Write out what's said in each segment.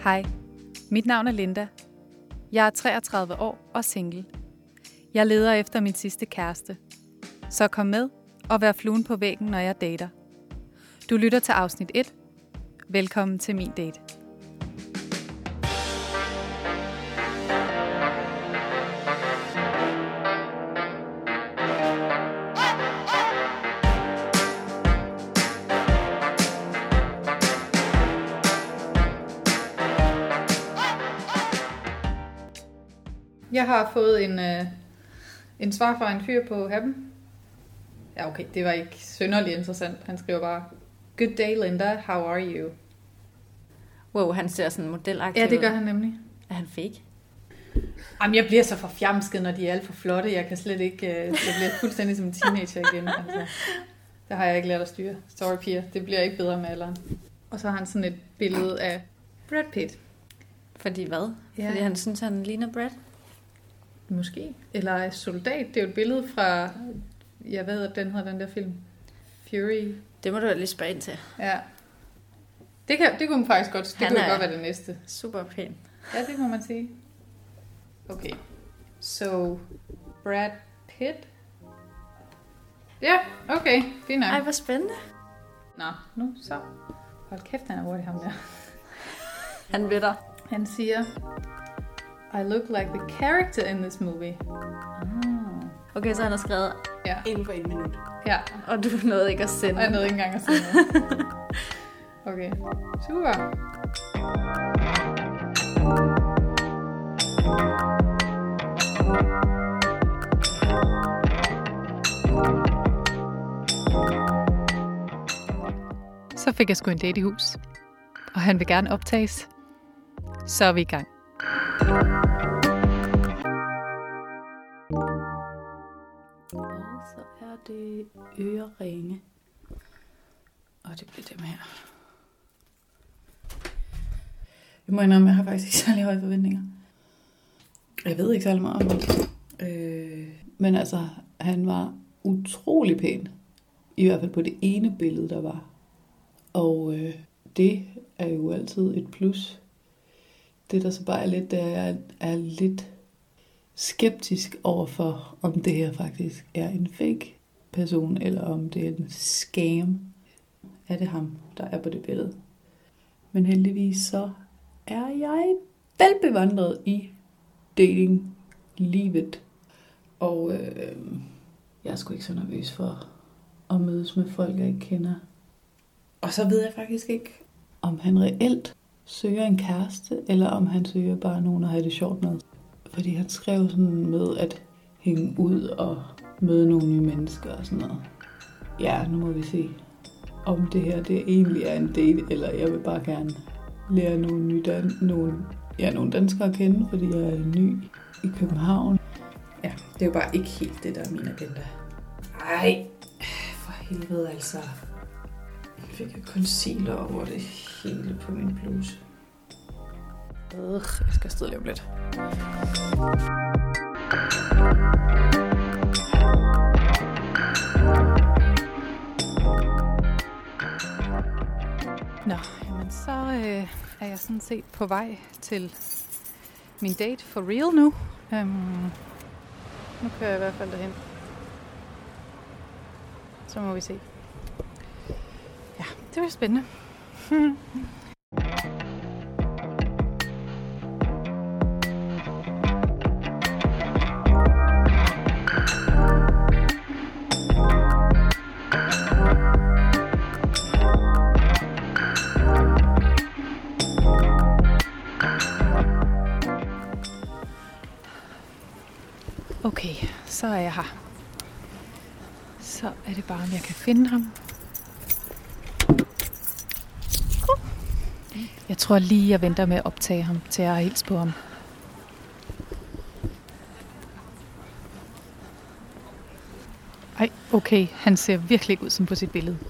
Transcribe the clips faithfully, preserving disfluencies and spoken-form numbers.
Hej, mit navn er Linda. Jeg er treogtredive år og single. Jeg leder efter min sidste kæreste. Så kom med og vær fluen på væggen, når jeg dater. Du lytter til afsnit et. Velkommen til min date. Jeg har fået en, øh, en svar fra en fyr på Happen. Ja, okay, det var ikke synderligt interessant. Han skriver bare, Good day, Linda. How are you? Wow, han ser sådan modelagtig ud. Ja, det gør han nemlig. Er han fake? Jamen, jeg bliver så forfjamsket, når de er alt for flotte. Jeg kan slet ikke... Øh, jeg bliver fuldstændig som en teenager igen. Altså, det har jeg ikke lært at styre. Sorry, piger. Det bliver ikke bedre med alderen. Og så har han sådan et billede af Brad Pitt. Fordi hvad? Ja. Fordi han synes, han ligner Brad? Måske. Eller soldat. Det er jo et billede fra... Jeg ved, at den hedder den der film. Fury. Det må du lige spørge ind til. Ja. Det, kan, det kunne man faktisk godt. Det Han kunne er godt være det næste. Super pæn. Ja, det må man sige. Okay. So, Brad Pitt. Ja, okay. Fint nok. Ej, hvor spændende. Nå, nu så. Hold kæft, han er hurtig, ham der. Han ved dig. Han siger, I look like the character in this movie. Ah. Okay, så han har skrevet Ja. inden for en minut. Ja. Og du nåede ikke at sende. Og jeg nåede ikke engang at sige noget. Okay, super. Så fik jeg sgu en date i hus. Og han vil gerne optages. Så er vi i gang. Og så er det øreringe. Og det bliver dem her. Jeg må indrømme, jeg har faktisk ikke særlig høje forventninger. Jeg ved ikke særlig meget om det. Øh, men altså, han var utrolig pæn. I hvert fald på det ene billede, der var. Og øh, det er jo altid et plus. Det, der så bare er lidt, det er, jeg er lidt skeptisk overfor, om det her faktisk er en fake person, eller om det er en scam. Er det ham, der er på det billede? Men heldigvis så er jeg velbevandret i dating-livet. Og øh, jeg er sgu ikke så nervøs for at mødes med folk, jeg ikke kender. Og så ved jeg faktisk ikke, om han reelt søger en kæreste, eller om han søger bare nogen at have det sjovt med. Fordi han skrev sådan med at hænge ud og møde nogle nye mennesker og sådan noget. Ja, nu må vi se, om det her det egentlig er en date, eller jeg vil bare gerne lære nogle, nye dan- nogle, ja, nogle danskere at kende, fordi jeg er ny i København. Ja, det er jo bare ikke helt det, der er min agenda. Ej, for helvede altså. Jeg fik jo concealer over det hele på min bluse. Øh, jeg skal stå lige lidt. Nå, jamen så øh, er jeg sådan set på vej til min date for real nu. Um, nu kører jeg i hvert fald derhen. Så må vi se. Ja, det bliver spændende. Okay, så er jeg her. Så er det bare, om jeg kan finde ham. Jeg tror lige, jeg venter med at optage ham, til jeg har hils på ham. Ej, okay, han ser virkelig ikke ud som på sit billede.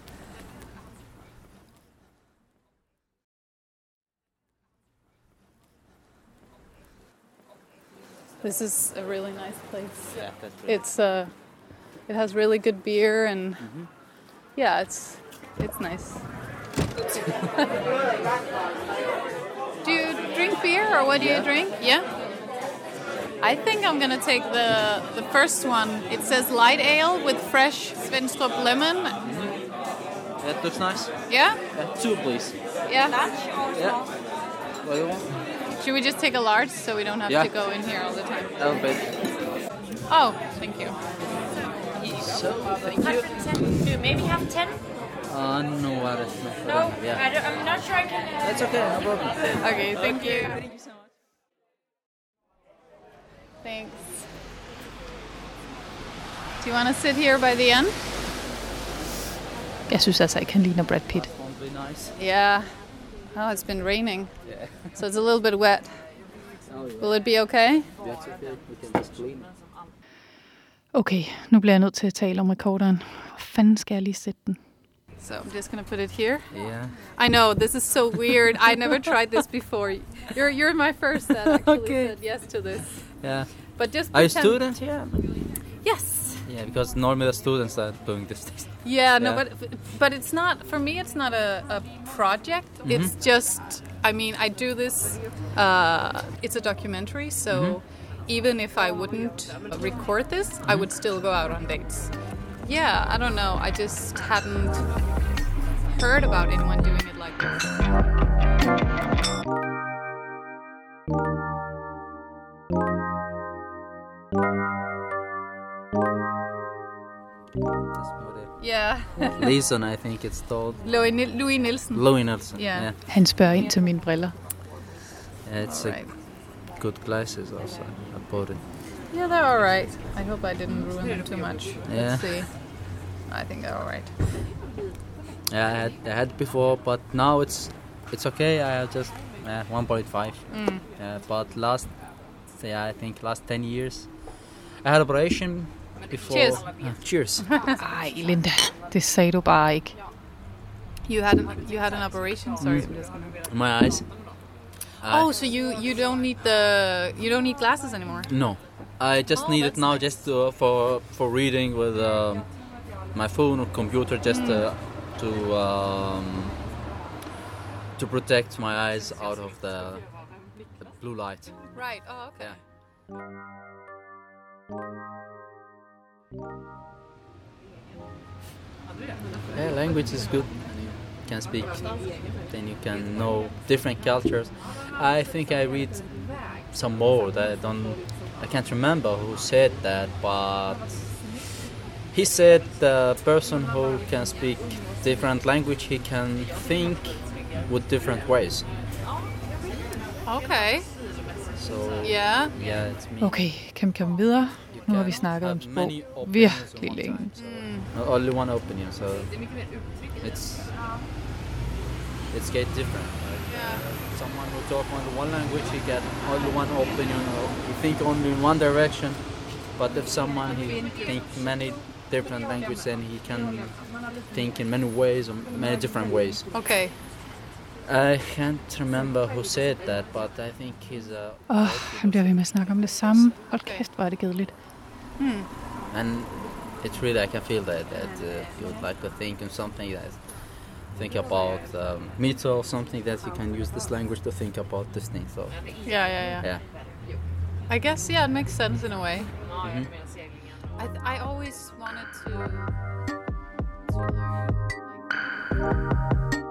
This is a really nice place. Yeah, that's really It's uh, it has really good beer and Mhm. yeah, it's it's nice. Do you drink beer or what do Yeah. you drink? Yeah. I think I'm gonna take the the first one. It says light ale with fresh Svenstrup lemon. That looks nice. Yeah? Yeah, two, please. Yeah. Yeah. What do you want? Should we just take a large so we don't have Yeah. to go in here all the time? A little bit. Oh, thank you. So, thank you. Do you maybe have ten? Uh, no, I don't know. No, Yeah. I don't, I'm not sure I can. Uh, That's okay, no problem. Okay, thank you. Thank you so much. Thanks. Do you want to sit here by the end? Jeg synes altså ikke, han ligner Brad Pitt. Won't be nice. Yeah. Oh, it's been raining, Yeah. so it's a little bit wet. Oh, yeah. Will it be okay? That's okay. We can just clean it. Okay, nu bliver jeg nødt til at tale om recorderen. Hvor fanden skal jeg lige sætte den? So I'm just gonna put it here. Yeah. I know this is so weird. I never tried this before. You're you're my first that actually Okay. said yes to this. Yeah. But just Are you pretend- student here? Yes. Yeah, because normally the students are doing this thing. Yeah, no, Yeah. but but it's not for me. It's not a, a project. It's just. I mean, I do this. Uh, it's a documentary, so even if I wouldn't record this, I would still go out on dates. Yeah, I don't know. I just hadn't heard about anyone doing it like this. That's what it- Yeah, Leeson, I think it's called. Louis, Nil- Louis Nielsen. Louis Nelson. Yeah. Yeah. Han spørger ind til mine briller. Yeah, it's Alright. a good glasses also. I bought it. Yeah, they're all right. I hope I didn't ruin them too much. Yeah. Let's see. I think they're all right. Yeah, I had I had it before, but now it's it's okay. I have just yeah, one point five. Mm. Yeah, but last yeah, I think last ten years, I had operation before. Cheers. Uh, cheers. Ej, Linda, det sagde du bare ikke. You had an, you had an operation. Sorry, I'm just gonna. My eyes. I- Oh, so you, you don't need the you don't need glasses anymore. No, I just Oh, need that's it now nice. just to, for for reading with um, my phone or computer, just Mm. uh, to um, to protect my eyes out of the, the blue light. Right. Oh, okay. Yeah. Yeah, language is good. And you can speak, then you can know different cultures. I think I read some more that I don't, I can't remember who said that, but he said the person who can speak different language, he can think with different ways. Okay. So Yeah. yeah, it's me. Okay, kan vi komme videre? You Nu har can vi snakket have om sprog many opinions at virkelig one længe. time, so not only one opinion, so it's it's get different. Like, Yeah. someone who talk only one language, he get only one opinion, or he think only in one direction. But if someone he think many different languages, then he can think in many ways, or many different ways. Okay. I can't remember who said that, but I think he's a. Åh, oh, han bliver ved med at snakke om det samme. Hold kæft, hvor er det kedeligt. And it's really, I can feel that that uh, you would like to think in something that think about um, meter or something that you can use this language to think about this thing. So Yeah, yeah, yeah. yeah. I guess yeah, it makes sense in a way. Mhm. I th- I always wanted to. to learn, like-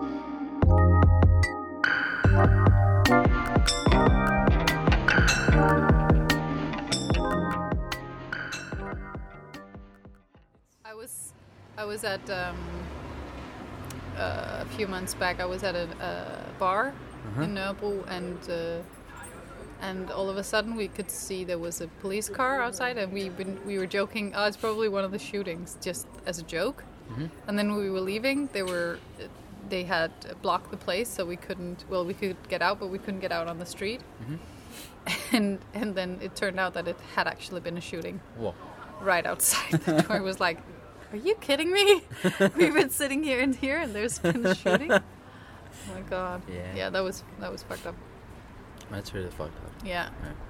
I was I was at um, uh, a few months back. I was at a, a bar in Nørrebro, and uh, and all of a sudden we could see there was a police car outside, and we been, we were joking, oh, it's probably one of the shootings, just as a joke. And then when we were leaving, they were they had blocked the place, so we couldn't. Well, we could get out, but we couldn't get out on the street. And and then it turned out that it had actually been a shooting Whoa. right outside the door. It was like, are you kidding me? We've been sitting here and here, and there's been a shooting. Oh my god. Yeah. Yeah, that was that was fucked up. That's really fucked up. Yeah.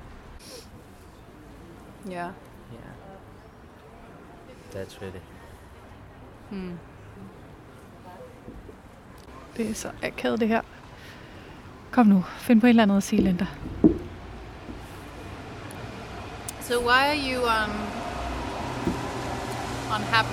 Yeah. Yeah. That's really. Det er så akavet, det her. Kom nu, find på et eller andet at sige, Linda. So why are you um, unhappy?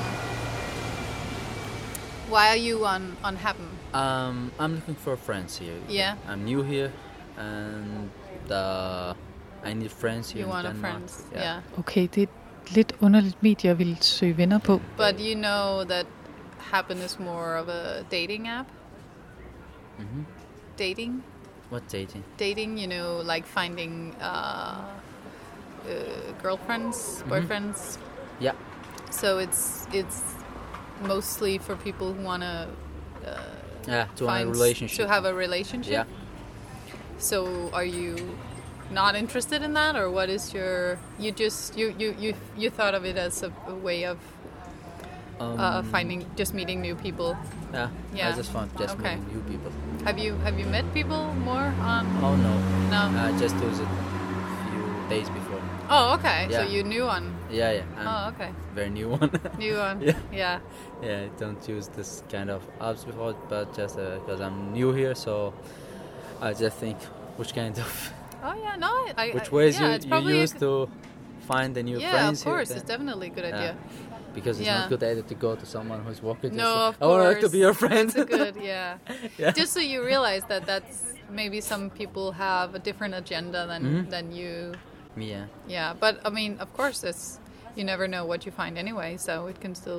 Why are you un, unhappy? Um, I'm looking for friends here. Yeah. I'm new here, and uh, I need friends here You in want a Denmark. friends, Yeah. yeah. Okay, det er et lidt underligt medie at ville søge venner på. But you know that Happen is more of a dating app? Mm-hmm. Dating? What dating? Dating, you know, like finding uh, uh, girlfriends, boyfriends. Yeah. So it's it's mostly for people who want to uh, Yeah, to have a find relationship. to have a relationship. Yeah. So are you not interested in that, or what is your? You just you you you you thought of it as a, a way of Um, uh, finding, just meeting new people. Yeah. Yeah. I just found just Okay. meeting new people. Have you have you met people more on? Oh no. No. I just used it a few days before. Oh, okay. So Yeah. you knew on. Yeah, yeah. I'm Oh, okay. very new one. New on. Yeah. Yeah. Yeah, I don't use this kind of apps before, but just because I'm new here, so I just think which kind of Oh yeah. No. I. which I, ways yeah, you, it's you probably use a, to find the new Yeah, friends of here course. then. It's definitely a good Yeah. idea. Because it's Yeah. not good either to go to someone who's walking. No, just say, of I would like to course. be your friend. It's a good, yeah. Yeah. Just so you realize that that's maybe some people have a different agenda than Mhm. than you. Yeah. Yeah, but I mean, of course, it's you never know what you find anyway, so it can still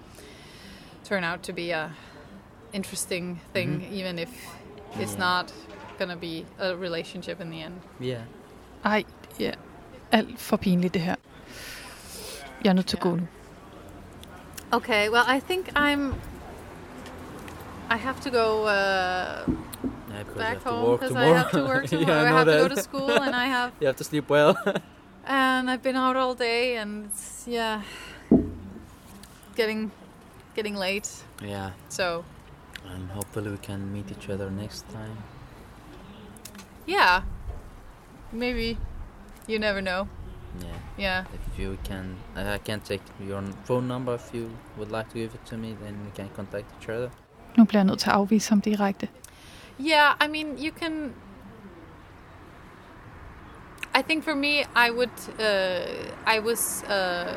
turn out to be a interesting thing, even if it's Yeah. not gonna be a relationship in the end. Yeah. Ej, ja. Alt for pinligt det her. Jeg er nødt til at Ja. gå nu. Okay, well, I think I'm. I have to go uh, Yeah, because back you have to home work because I tomorrow. have to work tomorrow. yeah, I I know have that. to go to school, and I have. You have to sleep well. And I've been out all day, and it's, yeah, getting getting late. Yeah. So And hopefully we can meet each other next time. yeah, maybe. You never know. Yeah. Yeah. If you can, I can take your phone number if you would like to give it to me, then we can contact each other. Nu bliver jeg nødt til at afvise ham direkte. Yeah, I mean, you can. I think for me, I would. Uh, I was. Uh,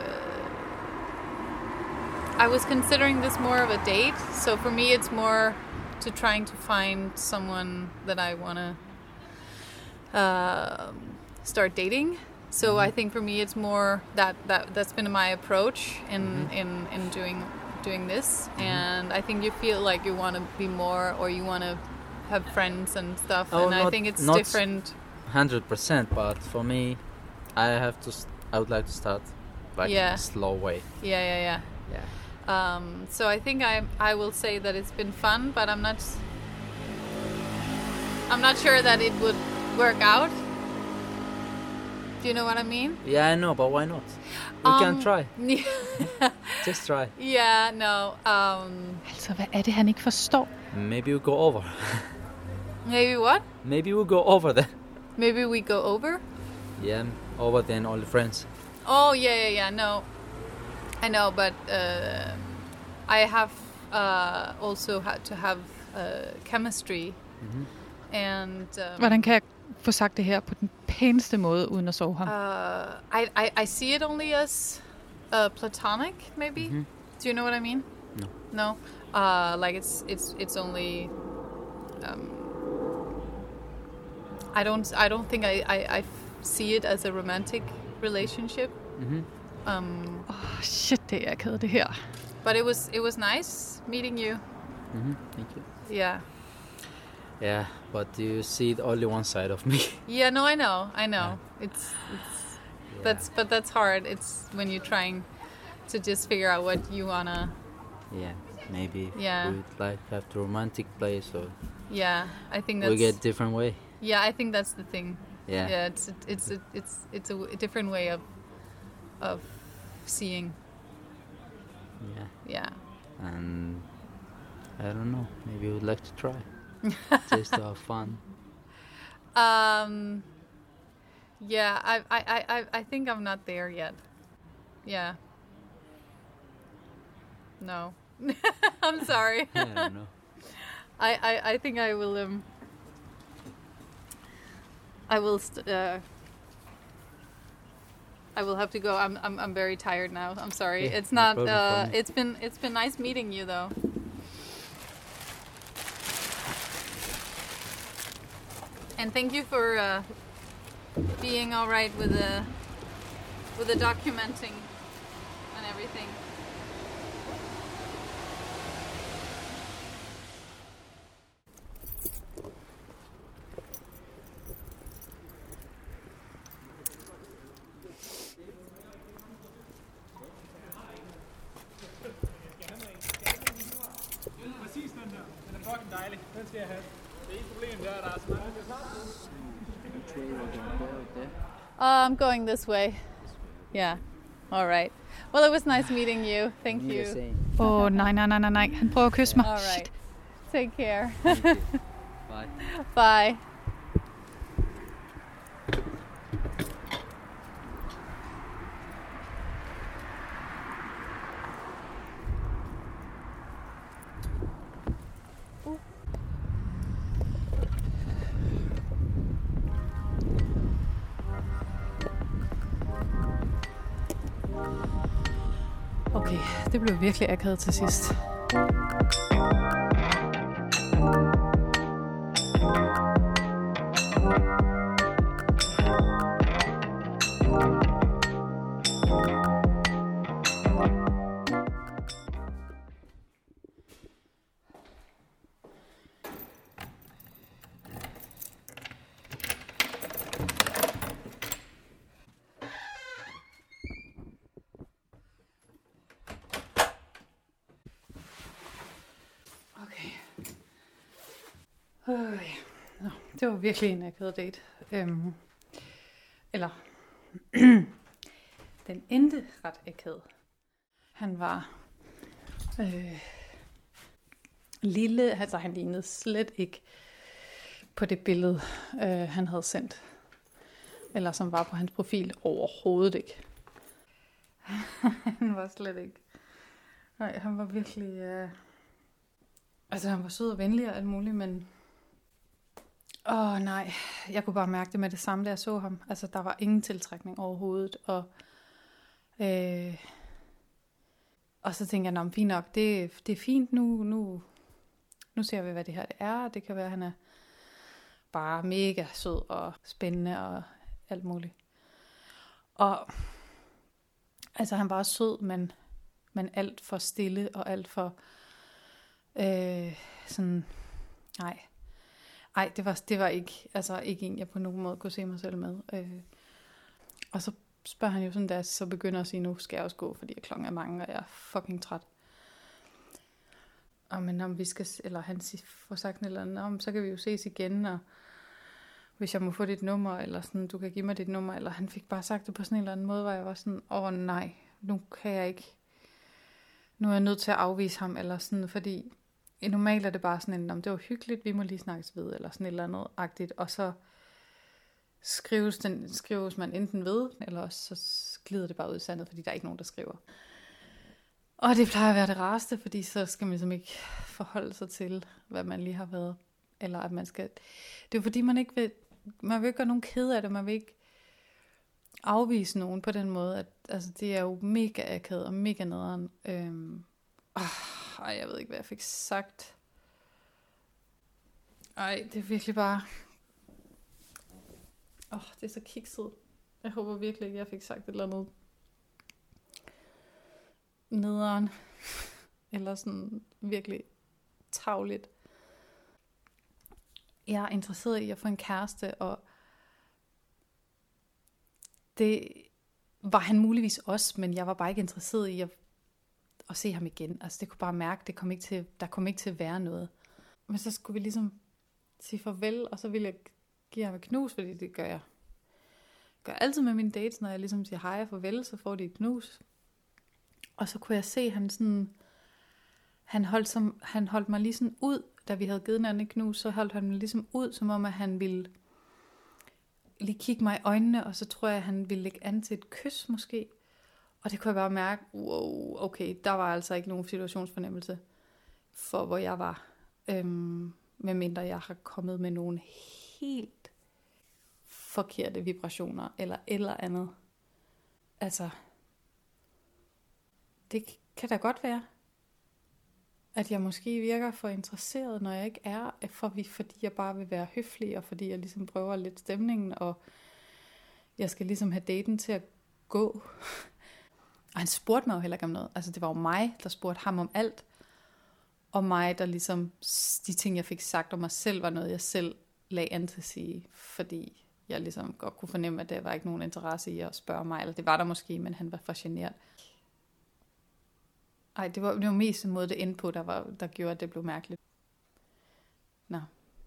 I was considering this more of a date. So for me, it's more to trying to find someone that I want to uh, start dating. So Mm-hmm. I think for me, it's more that that that's been my approach in Mm-hmm. in in doing doing this. And I think you feel like you want to be more, or you want to have friends and stuff. Oh, and I not- think it's not- different. Hundred percent, but for me, I have to. s- I would like to start like Yeah. a slow way. Yeah, yeah, yeah. Yeah. Um, so I think I I will say that it's been fun, but I'm not I'm not sure that it would work out. Do you know what I mean? Yeah, I know, but why not? We can Um, try. Yeah, Just try. yeah no. Um, Altså, hvad er det, han ikke forstår? Maybe we go over. maybe what? Maybe we go over then. Maybe we go over? Yeah, over then all the friends. Oh yeah, yeah, yeah. No, I know, but uh, I have uh, also had to have uh, chemistry, Mhm. and um, Hvordan kan jeg få sagt det her på den pæneste måde, uden at sove ham? Uh, I, I, I see it only as uh, platonic, maybe. Mhm. Do you know what I mean? No. No. Uh, like it's it's it's only. Um, I don't I don't think I, I, I see it as a romantic relationship. Mhm. Um, Åh, shit, det er ked det her. but it was it was nice meeting you. Mhm. Thank you. Yeah. Yeah, but you see it only one side of me. Yeah. No, I know. I know. Yeah. It's it's Yeah. that's but that's hard. It's when you're trying to just figure out what you wanna. Yeah, maybe Yeah. we'd like have the romantic play, so Yeah, I think that's. we get different way. Yeah, I think that's the thing. Yeah. Yeah, it's it's it's it's it's a, w- a different way of of seeing. Yeah. Yeah. And I don't know. Maybe we'd like to try. Just to have fun. Um. Yeah, I I I I- I think I'm not there yet. Yeah. No. I'm sorry. I don't know. I, I I think I will um. I will. St- uh, I will have to go. I'm. I'm. I'm very tired now. I'm sorry. Yeah, it's no not. problem for Uh, me. it's been. It's been nice meeting you, though. And thank you for uh, being all right with the with the documenting and everything. Præcis den der. Den er fucking dejlig. Den skal jeg have. Det er ikke problem der, der er så mange. Uh, I'm going this way. Yeah. All right. Well, it was nice meeting you. Thank you. Åh, oh, nej, nej, nej, nej, nej. Han prøver at kysse mig. All right. Take care. Bye. Bye. Okay, det blev virkelig akavet til sidst. Okay. Øh, Nå, det var virkelig en akavet date. Øhm, eller, den endte ret akavet. Han var øh, lille, altså han lignede slet ikke på det billede, øh, han havde sendt. Eller som var på hans profil overhovedet ikke. Han var slet ikke. Nej, han var virkelig... Øh, altså han var sød og venlig og alt muligt, men... Åh oh, nej, jeg kunne bare mærke det med det samme, da jeg så ham. Altså der var ingen tiltrækning overhovedet, og... Øh, og så tænkte jeg, nå, fint nok, det, det er fint nu, nu, nu ser vi, hvad det her er. Det kan være, at han er bare mega sød og spændende og alt muligt. Og altså han var sød, men, men alt for stille og alt for øh, sådan, nej, ej, det var, det var ikke, altså ikke en, jeg på nogen måde kunne se mig selv med. Øh, og så spørger han jo sådan, da jeg så begynder at sige, nu skal jeg også gå, fordi klokken er mange, og jeg er fucking træt. Og men om vi skal, eller han får sagt en eller anden, om, så kan vi jo ses igen, og hvis jeg må få dit nummer, eller sådan, du kan give mig dit nummer, eller han fik bare sagt det på sådan en eller anden måde, hvor jeg var sådan, åh nej, nu kan jeg ikke, nu er jeg nødt til at afvise ham, eller sådan, fordi normalt er det bare sådan en, om det var hyggeligt, vi må lige snakkes ved, eller sådan et eller andet agtigt, og så skrives, den, skrives man enten ved, eller også så glider det bare ud i sandet, fordi der er ikke nogen, der skriver. Og det plejer at være det rareste, fordi så skal man ligesom ikke forholde sig til, hvad man lige har været, eller at man skal, det er jo fordi, man ikke vil, man vil ikke gøre nogen kede af det, man vil ikke afvise nogen på den måde, at altså, det er jo mega akavet og mega nederen. Øhm, øh, ej, jeg ved ikke, hvad jeg fik sagt. Ej, det er virkelig bare, åh, oh, det er så kikset. Jeg håber virkelig ikke, jeg fik sagt et eller andet nederen, eller sådan virkelig tarveligt. Jeg er interesseret i at få en kæreste, og det var han muligvis også, men jeg var bare ikke interesseret i at, at se ham igen. Altså det kunne bare mærke, det kom ikke til, der kom ikke til at være noget. Men så skulle vi ligesom sige farvel, og så ville jeg give ham et knus, fordi det gør jeg. gør altid med mine dates, når jeg ligesom siger hej og farvel, så får de et knus. Og så kunne jeg se, han sådan, han holdt, som, han holdt mig ligesom ud, da vi havde givet hinanden et knus, så holdt han mig ligesom ud, som om at han ville lige kigge mig i øjnene, og så tror jeg, at han ville lægge an til et kys måske. Og det kunne jeg bare mærke, wow, okay, der var altså ikke nogen situationsfornemmelse for, hvor jeg var. Øhm, medmindre jeg har kommet med nogen helt forkerte vibrationer, eller et eller andet. Altså, det kan da godt være, at jeg måske virker for interesseret, når jeg ikke er, for vi, fordi jeg bare vil være høflig, og fordi jeg ligesom prøver lidt stemningen, og jeg skal ligesom have daten til at gå. Og han spurgte mig jo heller ikke om noget. Altså det var jo mig, der spurgte ham om alt, og mig, der ligesom, de ting jeg fik sagt om mig selv, var noget jeg selv lagde an til at sige, fordi jeg ligesom godt kunne fornemme, at der var ikke nogen interesse i at spørge mig, eller det var der måske, men han var for genert. Ej, det var, det var mest en måde, det endte på, der, var, der gjorde, at det blev mærkeligt. Nå.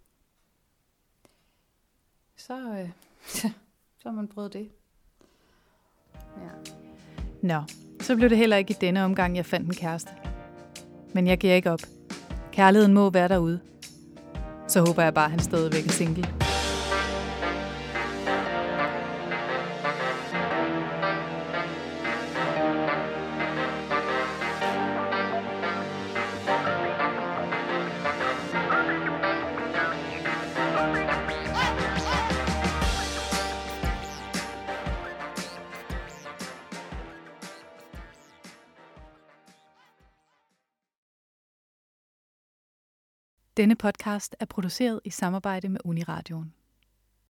Så, øh, så har man prøvet det. Ja. Nå, så blev det heller ikke i denne omgang, jeg fandt en kæreste. Men jeg giver ikke op. Kærligheden må være derude. Så håber jeg bare, at han stadigvæk er single. Denne podcast er produceret i samarbejde med Uniradioen.